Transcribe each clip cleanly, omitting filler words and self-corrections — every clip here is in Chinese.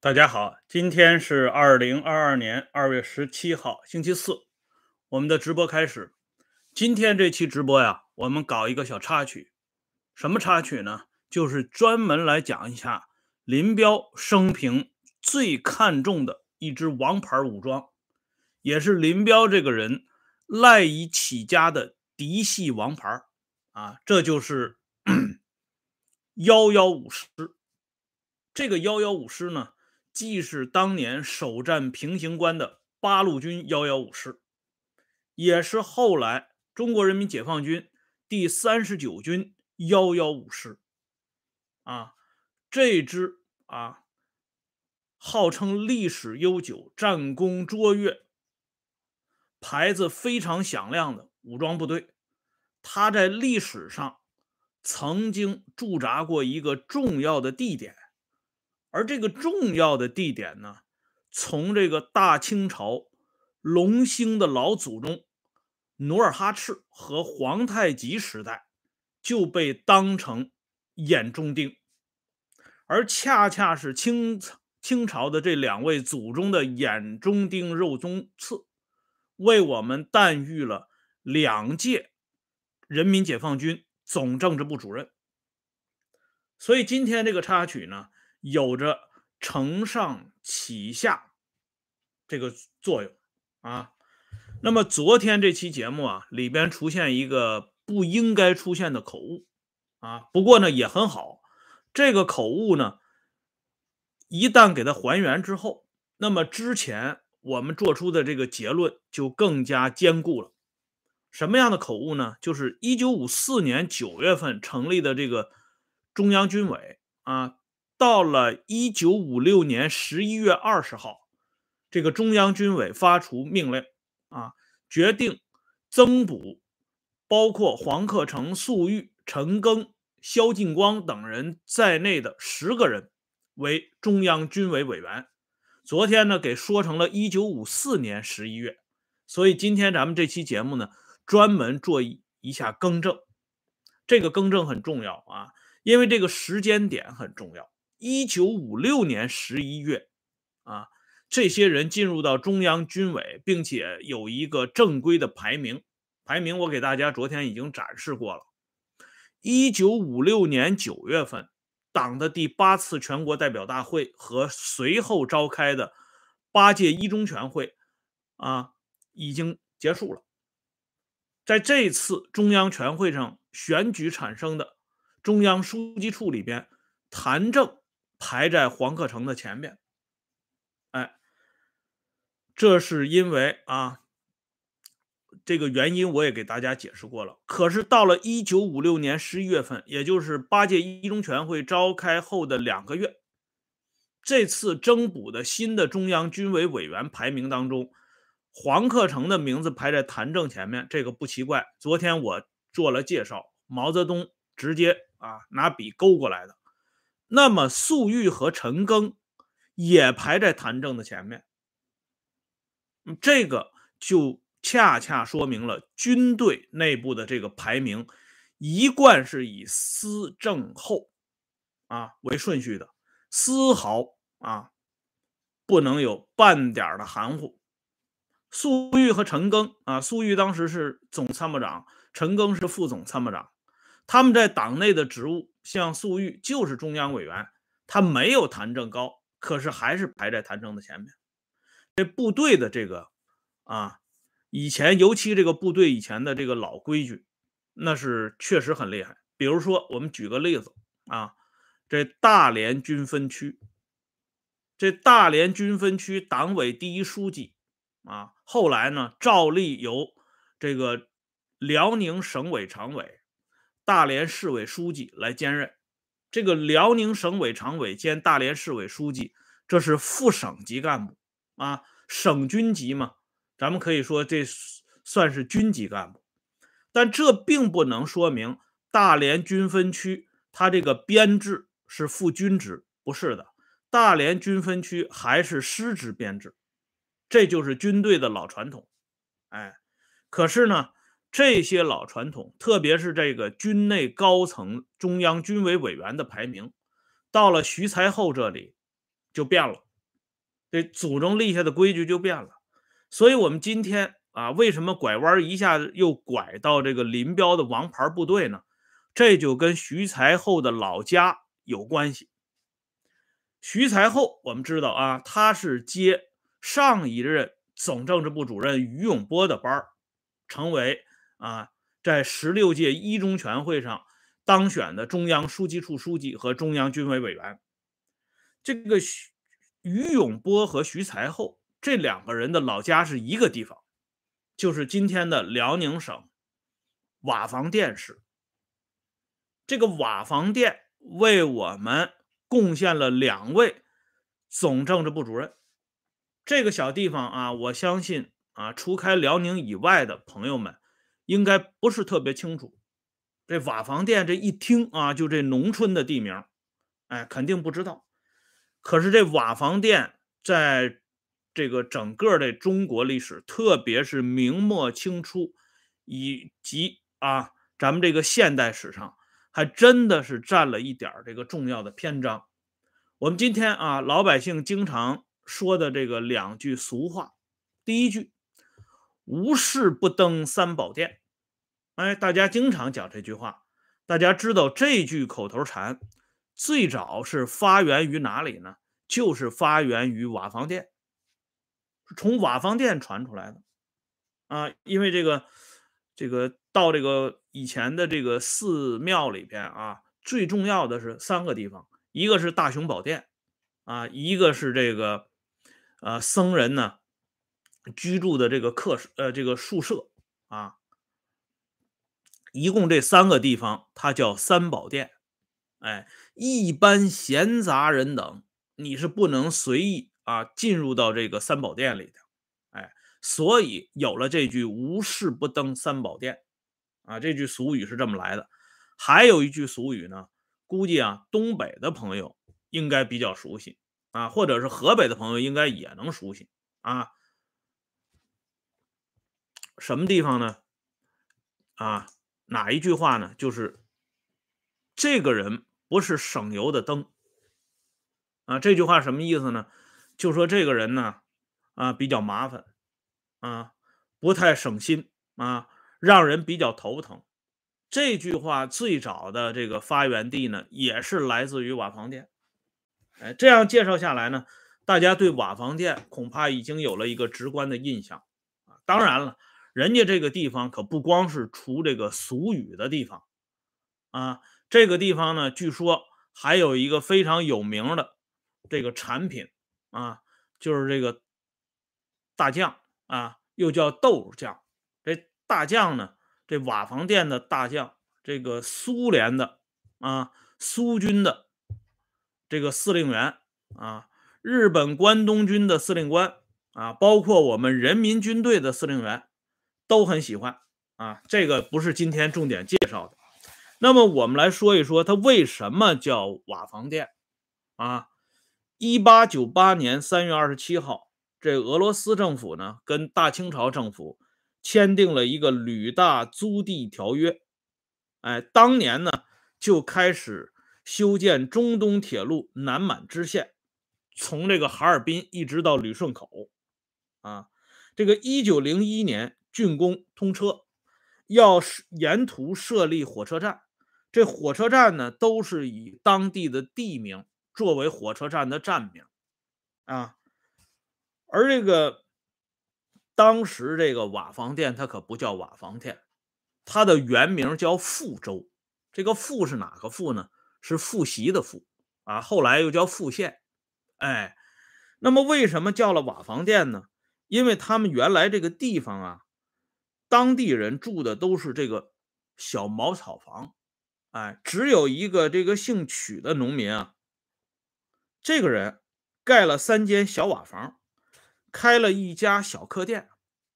大家好，今天是2022年2月17号，星期四，我们的直播开始。今天这期直播呀，我们搞一个小插曲。什么插曲呢？就是专门来讲一下林彪生平最看重的一支王牌武装，也是林彪这个人赖以起家的嫡系王牌啊，这就是115师。这个115师呢，既是当年首战平型关的八路军115师，也是后来中国人民解放军第39军115师啊。这支号称历史悠久、战功卓越、牌子非常响亮的武装部队，它在历史上曾经驻扎过一个重要的地点。而这个重要的地点呢，从这个大清朝隆兴的老祖宗努尔哈赤和皇太极时代就被当成眼中钉，而恰恰是清朝的这两位祖宗的眼中钉、肉中刺，为我们诞育了2届人民解放军总政治部主任。所以今天这个插曲呢，有着承上启下这个作用啊。那么昨天这期节目里边出现一个不应该出现的口误不过呢也很好。这个口误呢，一旦给它还原之后，那么之前我们做出的这个结论就更加坚固了。什么样的口误呢？就是1954年9月份成立的这个中央军委到了1956年11月20号，这个中央军委发出命令决定增补包括黄克诚、粟裕、陈赓、萧劲光等人在内的10个人为中央军委委员。昨天呢，给说成了1954年11月，所以今天咱们这期节目呢，专门做一下更正。这个更正很重要因为这个时间点很重要。1956年11月这些人进入到中央军委，并且有一个正规的排名我给大家昨天已经展示过了。1956年9月份，党的第8次全国代表大会和随后召开的8届一中全会已经结束了。在这次中央全会上选举产生的中央书记处里边，谭政排在黄克诚的前面。这是因为这个原因我也给大家解释过了。可是到了1956年11月份，也就是8届一中全会召开后的2个月，这次增补的新的中央军委委员排名当中，黄克诚的名字排在谭政前面，这个不奇怪。昨天我做了介绍，毛泽东直接拿笔勾过来的。那么粟裕和陈赓也排在谭政的前面，这个就恰恰说明了军队内部的这个排名一贯是以思政后为顺序的，丝毫不能有半点的含糊。粟裕和陈赓粟裕当时是总参谋长，陈赓是副总参谋长。他们在党内的职务，像粟裕就是中央委员，他没有谭政高，可是还是排在谭政的前面。这部队的这个以前尤其这个部队以前的这个老规矩，那是确实很厉害。比如说我们举个例子这大连军分区，党委第一书记后来呢照例由这个辽宁省委常委、大连市委书记来兼任。这个辽宁省委常委兼大连市委书记，这是副省级干部省军级嘛，咱们可以说这算是军级干部。但这并不能说明大连军分区它这个编制是副军职，不是的，大连军分区还是师职编制，这就是军队的老传统。可是呢，这些老传统，特别是这个军内高层中央军委委员的排名，到了徐才厚这里就变了这祖宗立下的规矩就变了。所以我们今天啊，为什么拐弯一下子又拐到这个林彪的王牌部队呢？这就跟徐才厚的老家有关系。徐才厚我们知道啊，他是接上一任总政治部主任于永波的班儿，成为在16届一中全会上当选的中央书记处书记和中央军委委员。这个于永波和徐才厚这两个人的老家是一个地方，就是今天的辽宁省瓦房店市。这个瓦房店为我们贡献了2位总政治部主任。这个小地方啊，我相信啊，除开辽宁以外的朋友们应该不是特别清楚。这瓦房店这一听啊，就这农村的地名，哎，肯定不知道。可是这瓦房店在这个整个的中国历史，特别是明末清初以及咱们这个现代史上，还真的是占了一点这个重要的篇章。我们今天啊，老百姓经常说的这个2句俗话，第一句无事不登三宝殿，哎，大家经常讲这句话。大家知道这句口头禅最早是发源于哪里呢？就是发源于瓦房店，从瓦房店传出来的因为这个到这个以前的这个寺庙里边最重要的是3个地方，一个是大雄宝殿一个是这个僧人呢居住的这个这个宿舍一共这3个地方，它叫三宝殿。哎，一般闲杂人等，你是不能随意进入到这个三宝殿里的。哎，所以有了这句无事不登三宝殿这句俗语是这么来的。还有一句俗语呢，估计东北的朋友应该比较熟悉或者是河北的朋友应该也能熟悉什么地方呢？哪一句话呢？就是这个人不是省油的灯这句话什么意思呢？就说这个人呢比较麻烦不太省心让人比较头疼。这句话最早的这个发源地呢，也是来自于瓦房店。哎，这样介绍下来呢，大家对瓦房店恐怕已经有了一个直观的印象当然了，人家这个地方可不光是出这个俗语的地方这个地方呢，据说还有一个非常有名的这个产品就是这个大酱又叫豆酱。这大酱呢，这瓦房店的大酱，这个苏联的苏军的这个司令员日本关东军的司令官包括我们人民军队的司令员都很喜欢这个不是今天重点介绍的。那么我们来说一说它为什么叫瓦房店1898年3月27号，这俄罗斯政府呢跟大清朝政府签订了一个旅大租地条约。哎，当年呢就开始修建中东铁路南满支线，从这个哈尔滨一直到旅顺口这个1901年竣工通车，要沿途设立火车站。这火车站呢都是以当地的地名作为火车站的站名而这个当时这个瓦房店它可不叫瓦房店，它的原名叫富州。这个富是哪个富呢？是复习的复后来又叫富县。哎，那么为什么叫了瓦房店呢？因为他们原来这个地方当地人住的都是这个小茅草房。哎，只有一个这个姓曲的农民这个人盖了3间小瓦房，开了一家小客店。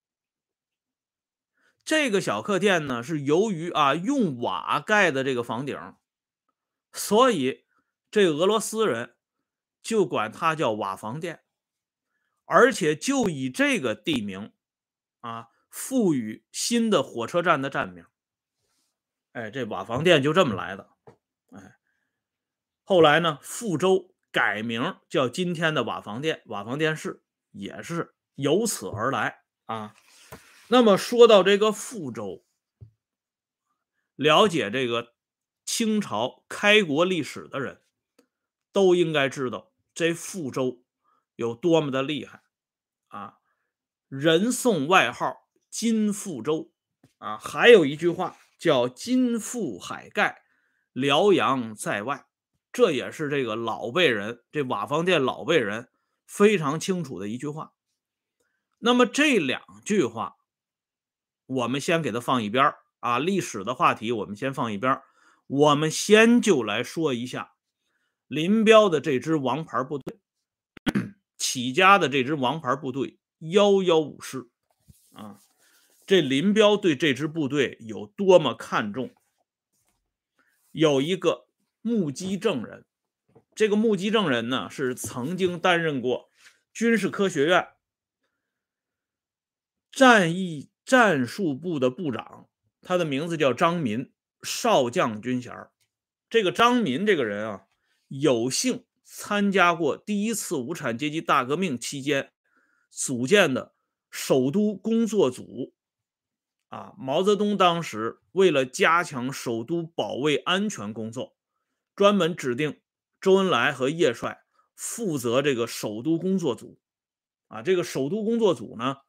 这个小客店呢，是由于用瓦盖的这个房顶，所以这俄罗斯人就管它叫瓦房店，而且就以这个地名赋予新的火车站的站名。哎，这瓦房店就这么来的。哎，后来呢，富州改名叫今天的瓦房店，瓦房店市也是由此而来啊。那么说到这个富州，了解这个清朝开国历史的人都应该知道这富州有多么的厉害啊！人送外号金富州啊，还有一句话叫金富海盖，辽阳在外，这也是这个老辈人，这瓦房店老辈人非常清楚的一句话。那么这两句话我们先给它放一边啊，历史的话题我们先放一边，我们先就来说一下林彪的这支王牌部队，起家的这支王牌部队115师啊。这林彪对这支部队有多么看重？有一个目击证人，这个目击证人呢是曾经担任过军事科学院战役战术部的部长，他的名字叫张民，少将军衔。这个张民这个人啊，有幸参加过第一次无产阶级大革命期间组建的首都工作组啊。毛泽东当时为了加强首都保卫安全工作，专门指定周恩来和叶帅负责这个首都工作组啊。这个首都工作组呢，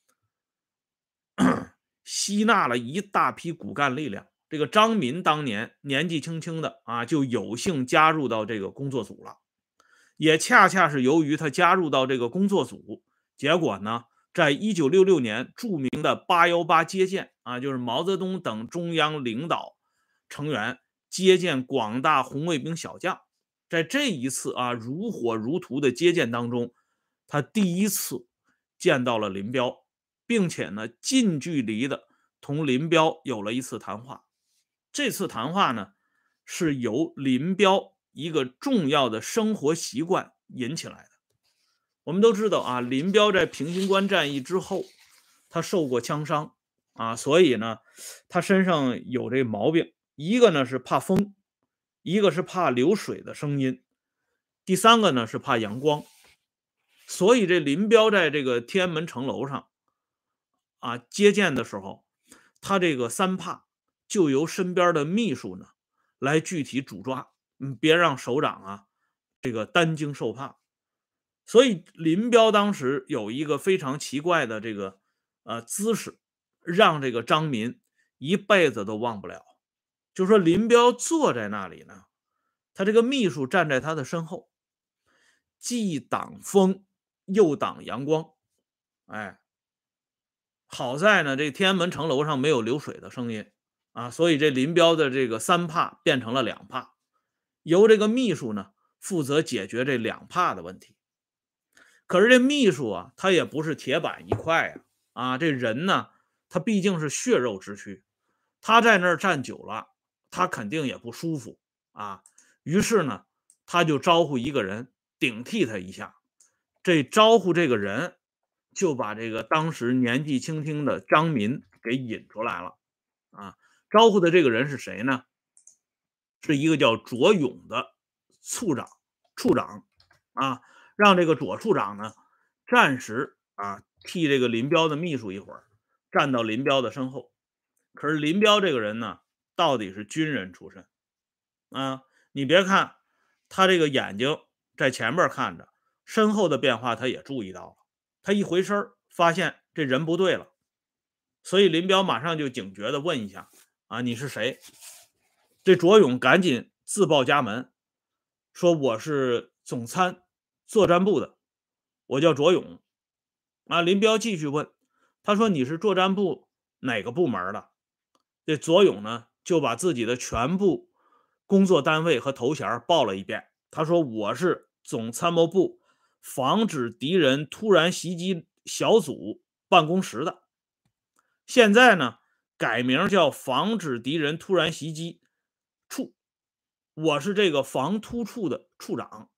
吸纳了一大批骨干力量。这个张民当年年纪轻轻的啊，就有幸加入到这个工作组了。也恰恰是由于他加入到这个工作组，结果呢，在1966年著名的818接见啊，就是毛泽东等中央领导成员接见广大红卫兵小将，在这一次啊如火如荼的接见当中，他第一次见到了林彪，并且呢近距离的同林彪有了一次谈话。这次谈话呢是由林彪一个重要的生活习惯引起来的。我们都知道啊，林彪在平型关战役之后，他受过枪伤啊，所以呢，他身上有这毛病。一个呢是怕风，一个是怕流水的声音，第三个呢是怕阳光。所以这林彪在这个天安门城楼上啊接见的时候，他这个三怕就由身边的秘书呢来具体主抓，别让首长啊这个担惊受怕。所以林彪当时有一个非常奇怪的这个姿势，让这个张民一辈子都忘不了。就说林彪坐在那里呢，他这个秘书站在他的身后，既挡风又挡阳光。哎，好在呢，这天安门城楼上没有流水的声音啊，所以这林彪的这个三怕变成了两怕，由这个秘书呢负责解决这两怕的问题。可是这秘书啊，他也不是铁板一块呀，这人呢，他毕竟是血肉之躯，他在那儿站久了，他肯定也不舒服啊。于是呢，他就招呼一个人顶替他一下。这招呼这个人就把这个当时年纪轻轻的张民给引出来了啊。招呼的这个人是谁呢？是一个叫卓勇的处长啊，让这个左处长呢暂时替这个林彪的秘书一会儿，站到林彪的身后。可是林彪这个人呢，到底是军人出身啊，你别看他这个眼睛在前面看着，身后的变化他也注意到了。他一回身发现这人不对了，所以林彪马上就警觉的问一下你是谁？这卓勇赶紧自报家门，说我是总参作战部的，我叫卓勇。林彪继续问，他说你是作战部哪个部门的？这卓勇呢就把自己的全部工作单位和头衔报了一遍。他说我是总参谋部防止敌人突然袭击小组办公室的，现在呢改名叫防止敌人突然袭击处，我是这个防突处的处长。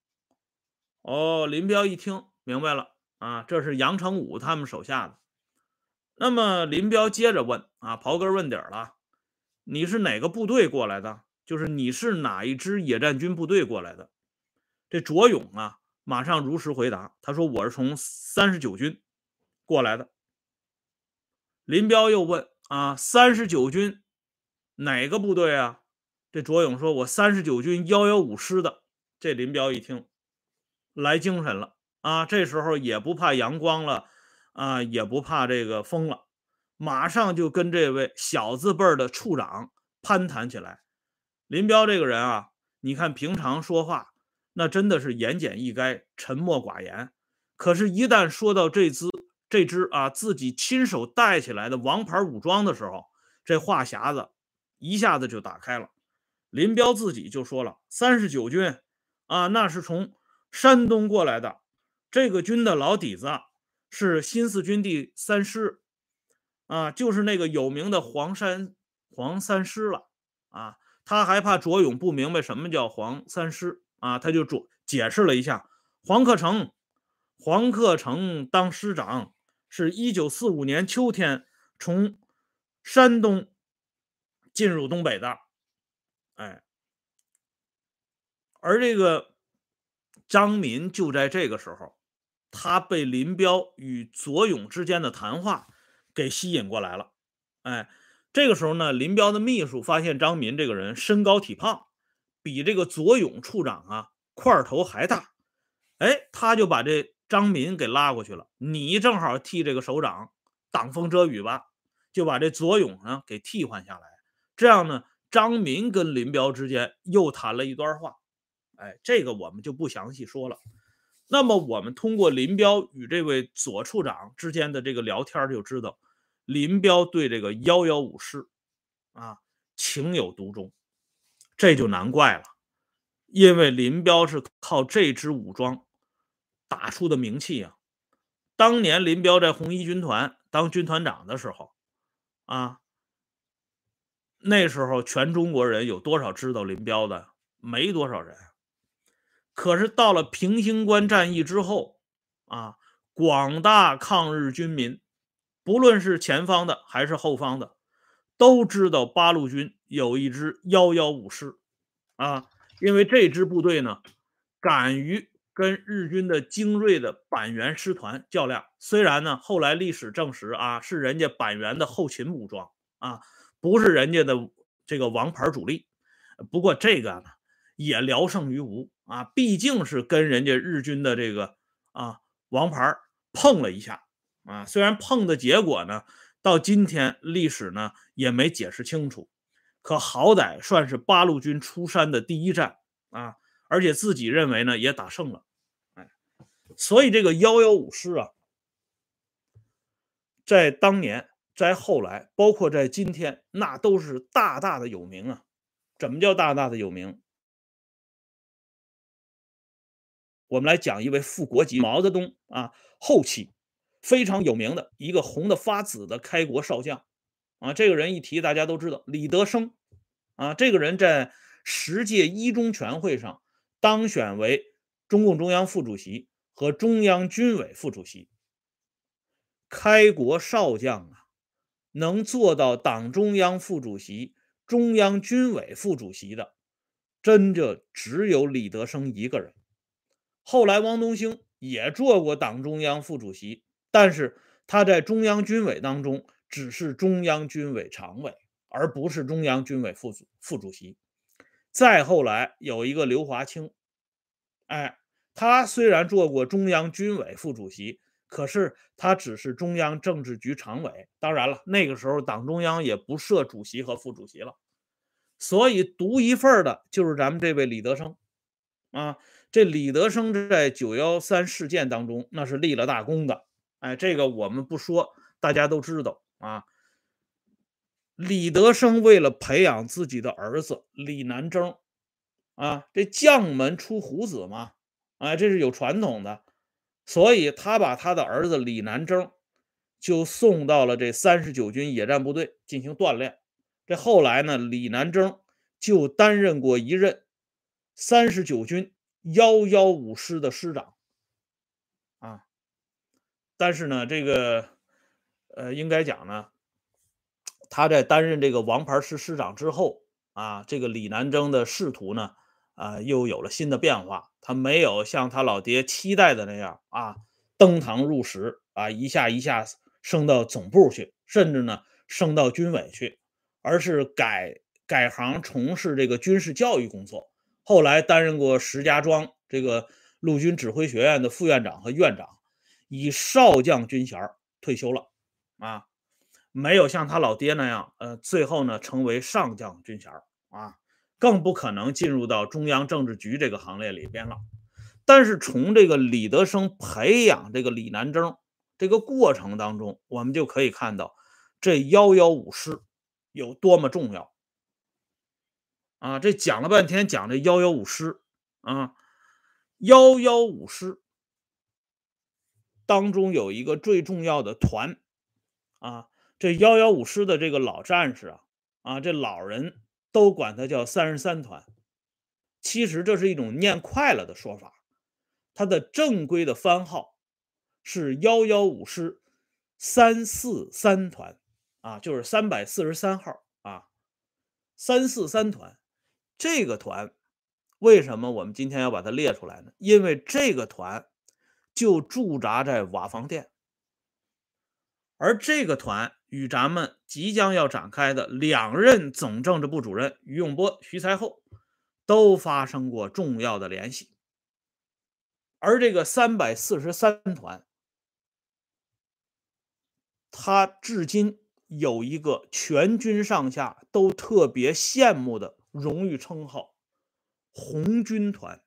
林彪一听明白了这是杨成武他们手下的。那么林彪接着问刨根问底了，你是哪个部队过来的？就是你是哪一支野战军部队过来的？ 这卓勇啊，马上如实回答，他说：“我是从39军过来的。”林彪又问：“啊，39军哪个部队啊？”这卓勇说：“我39军115师的。”这林彪一听，来精神了啊！这时候也不怕阳光了啊，也不怕这个风了，马上就跟这位小字辈儿的处长攀谈起来。林彪这个人啊，你看平常说话那真的是言简意赅、沉默寡言，可是，一旦说到这支啊自己亲手带起来的王牌武装的时候，这话匣子一下子就打开了。林彪自己就说了：“39军啊，那是从山东过来的，这个军的老底子是新四军第3师啊，就是那个有名的黄三师了啊。”他还怕卓勇不明白什么叫黄三师啊，他就解释了一下：黄克诚当师长是1945年秋天从山东进入东北的。哎，而这个张民就在这个时候，他被林彪与左勇之间的谈话给吸引过来了。哎，这个时候呢，林彪的秘书发现张民这个人身高体胖，比这个左勇处长啊块头还大。哎，他就把这张民给拉过去了，你正好替这个首长挡风遮雨吧，就把这左勇呢给替换下来。这样呢，张民跟林彪之间又谈了一段话。哎，这个我们就不详细说了。那么我们通过林彪与这位左处长之间的这个聊天就知道，林彪对这个115师啊情有独钟，这就难怪了。因为林彪是靠这支武装打出的名气啊。当年林彪在红一军团当军团长的时候啊，那时候全中国人有多少知道林彪的？没多少人。可是到了平型关战役之后啊，广大抗日军民，不论是前方的还是后方的，都知道八路军有一支115师啊。因为这支部队呢，敢于跟日军的精锐的板垣师团较量。虽然呢，后来历史证实啊，是人家板垣的后勤武装啊，不是人家的这个王牌主力。不过这个呢，也聊胜于无啊，毕竟是跟人家日军的这个啊王牌碰了一下啊。虽然碰的结果呢，到今天历史呢也没解释清楚，可好歹算是八路军出山的第一战啊，而且自己认为呢也打胜了。哎，所以这个115师啊，在当年，在后来，包括在今天，那都是大大的有名啊。怎么叫大大的有名？我们来讲一位副国级毛泽东啊后期非常有名的一个红的发紫的开国少将啊。这个人一提大家都知道，李德生啊。这个人在10届一中全会上当选为中共中央副主席和中央军委副主席。开国少将啊，能做到党中央副主席、中央军委副主席的，真就只有李德生一个人。后来汪东兴也做过党中央副主席，但是他在中央军委当中只是中央军委常委，而不是中央军委副主席。再后来有一个刘华清，哎，他虽然做过中央军委副主席，可是他只是中央政治局常委。当然了，那个时候党中央也不设主席和副主席了，所以独一份的就是咱们这位李德生啊。这李德生在9·13事件当中那是立了大功的。哎，这个我们不说，大家都知道啊。李德生为了培养自己的儿子李南征啊，这将门出虎子嘛，啊，这是有传统的。所以他把他的儿子李南征就送到了这39军野战部队进行锻炼。这后来呢，李南征就担任过一任39军115师的师长啊。但是呢，这个应该讲呢，他在担任这个王牌师师长之后啊，这个李南征的仕途呢又有了新的变化。他没有像他老爹期待的那样登堂入室一下一下升到总部去，甚至呢升到军委去，而是改行从事这个军事教育工作。后来担任过石家庄这个陆军指挥学院的副院长和院长，以少将军衔退休了啊。没有像他老爹那样，最后呢成为上将军衔更不可能进入到中央政治局这个行列里边了。但是从这个李德生培养这个李南征这个过程当中，我们就可以看到这115师有多么重要这讲了半天，讲这115师115师当中有一个最重要的团这115师的这个老战士这老人都管他叫33团。其实这是一种念快了的说法，它的正规的番号是115师343团就是343号343团。这个团为什么我们今天要把它列出来呢？因为这个团就驻扎在瓦房店，而这个团与咱们即将要展开的2任总政治部主任于永波、徐才厚都发生过重要的联系。而这个343团，它至今有一个全军上下都特别羡慕的荣誉称号——红军团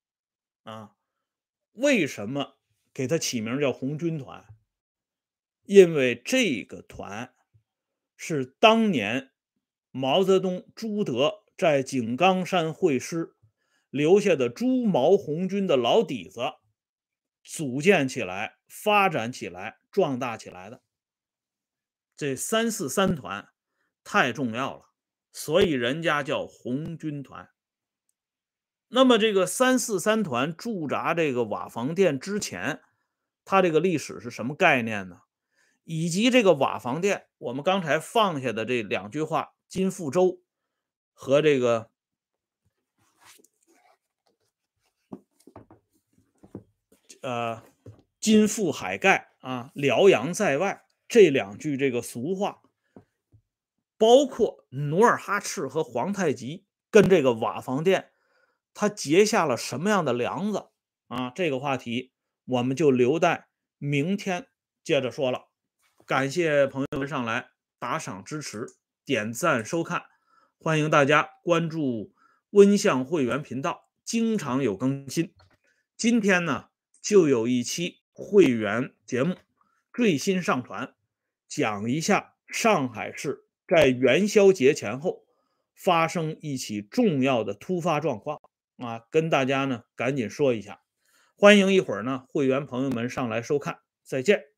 为什么给它起名叫红军团？因为这个团是当年毛泽东、朱德在井冈山会师留下的朱毛红军的老底子组建起来、发展起来、壮大起来的。这343团太重要了，所以人家叫红军团。那么这个343团驻扎这个瓦房店之前，它这个历史是什么概念呢？以及这个瓦房店，我们刚才放下的这2句话，金富洲和这个金富海盖辽阳在外这2句这个俗话，包括努尔哈赤和皇太极跟这个瓦房店他结下了什么样的梁子这个话题我们就留待明天接着说了。感谢朋友们上来打赏支持、点赞收看，欢迎大家关注温相会员频道，经常有更新。今天呢就有一期会员节目最新上传，讲一下上海市在元宵节前后发生一起重要的突发状况跟大家呢赶紧说一下。欢迎一会儿呢会员朋友们上来收看，再见。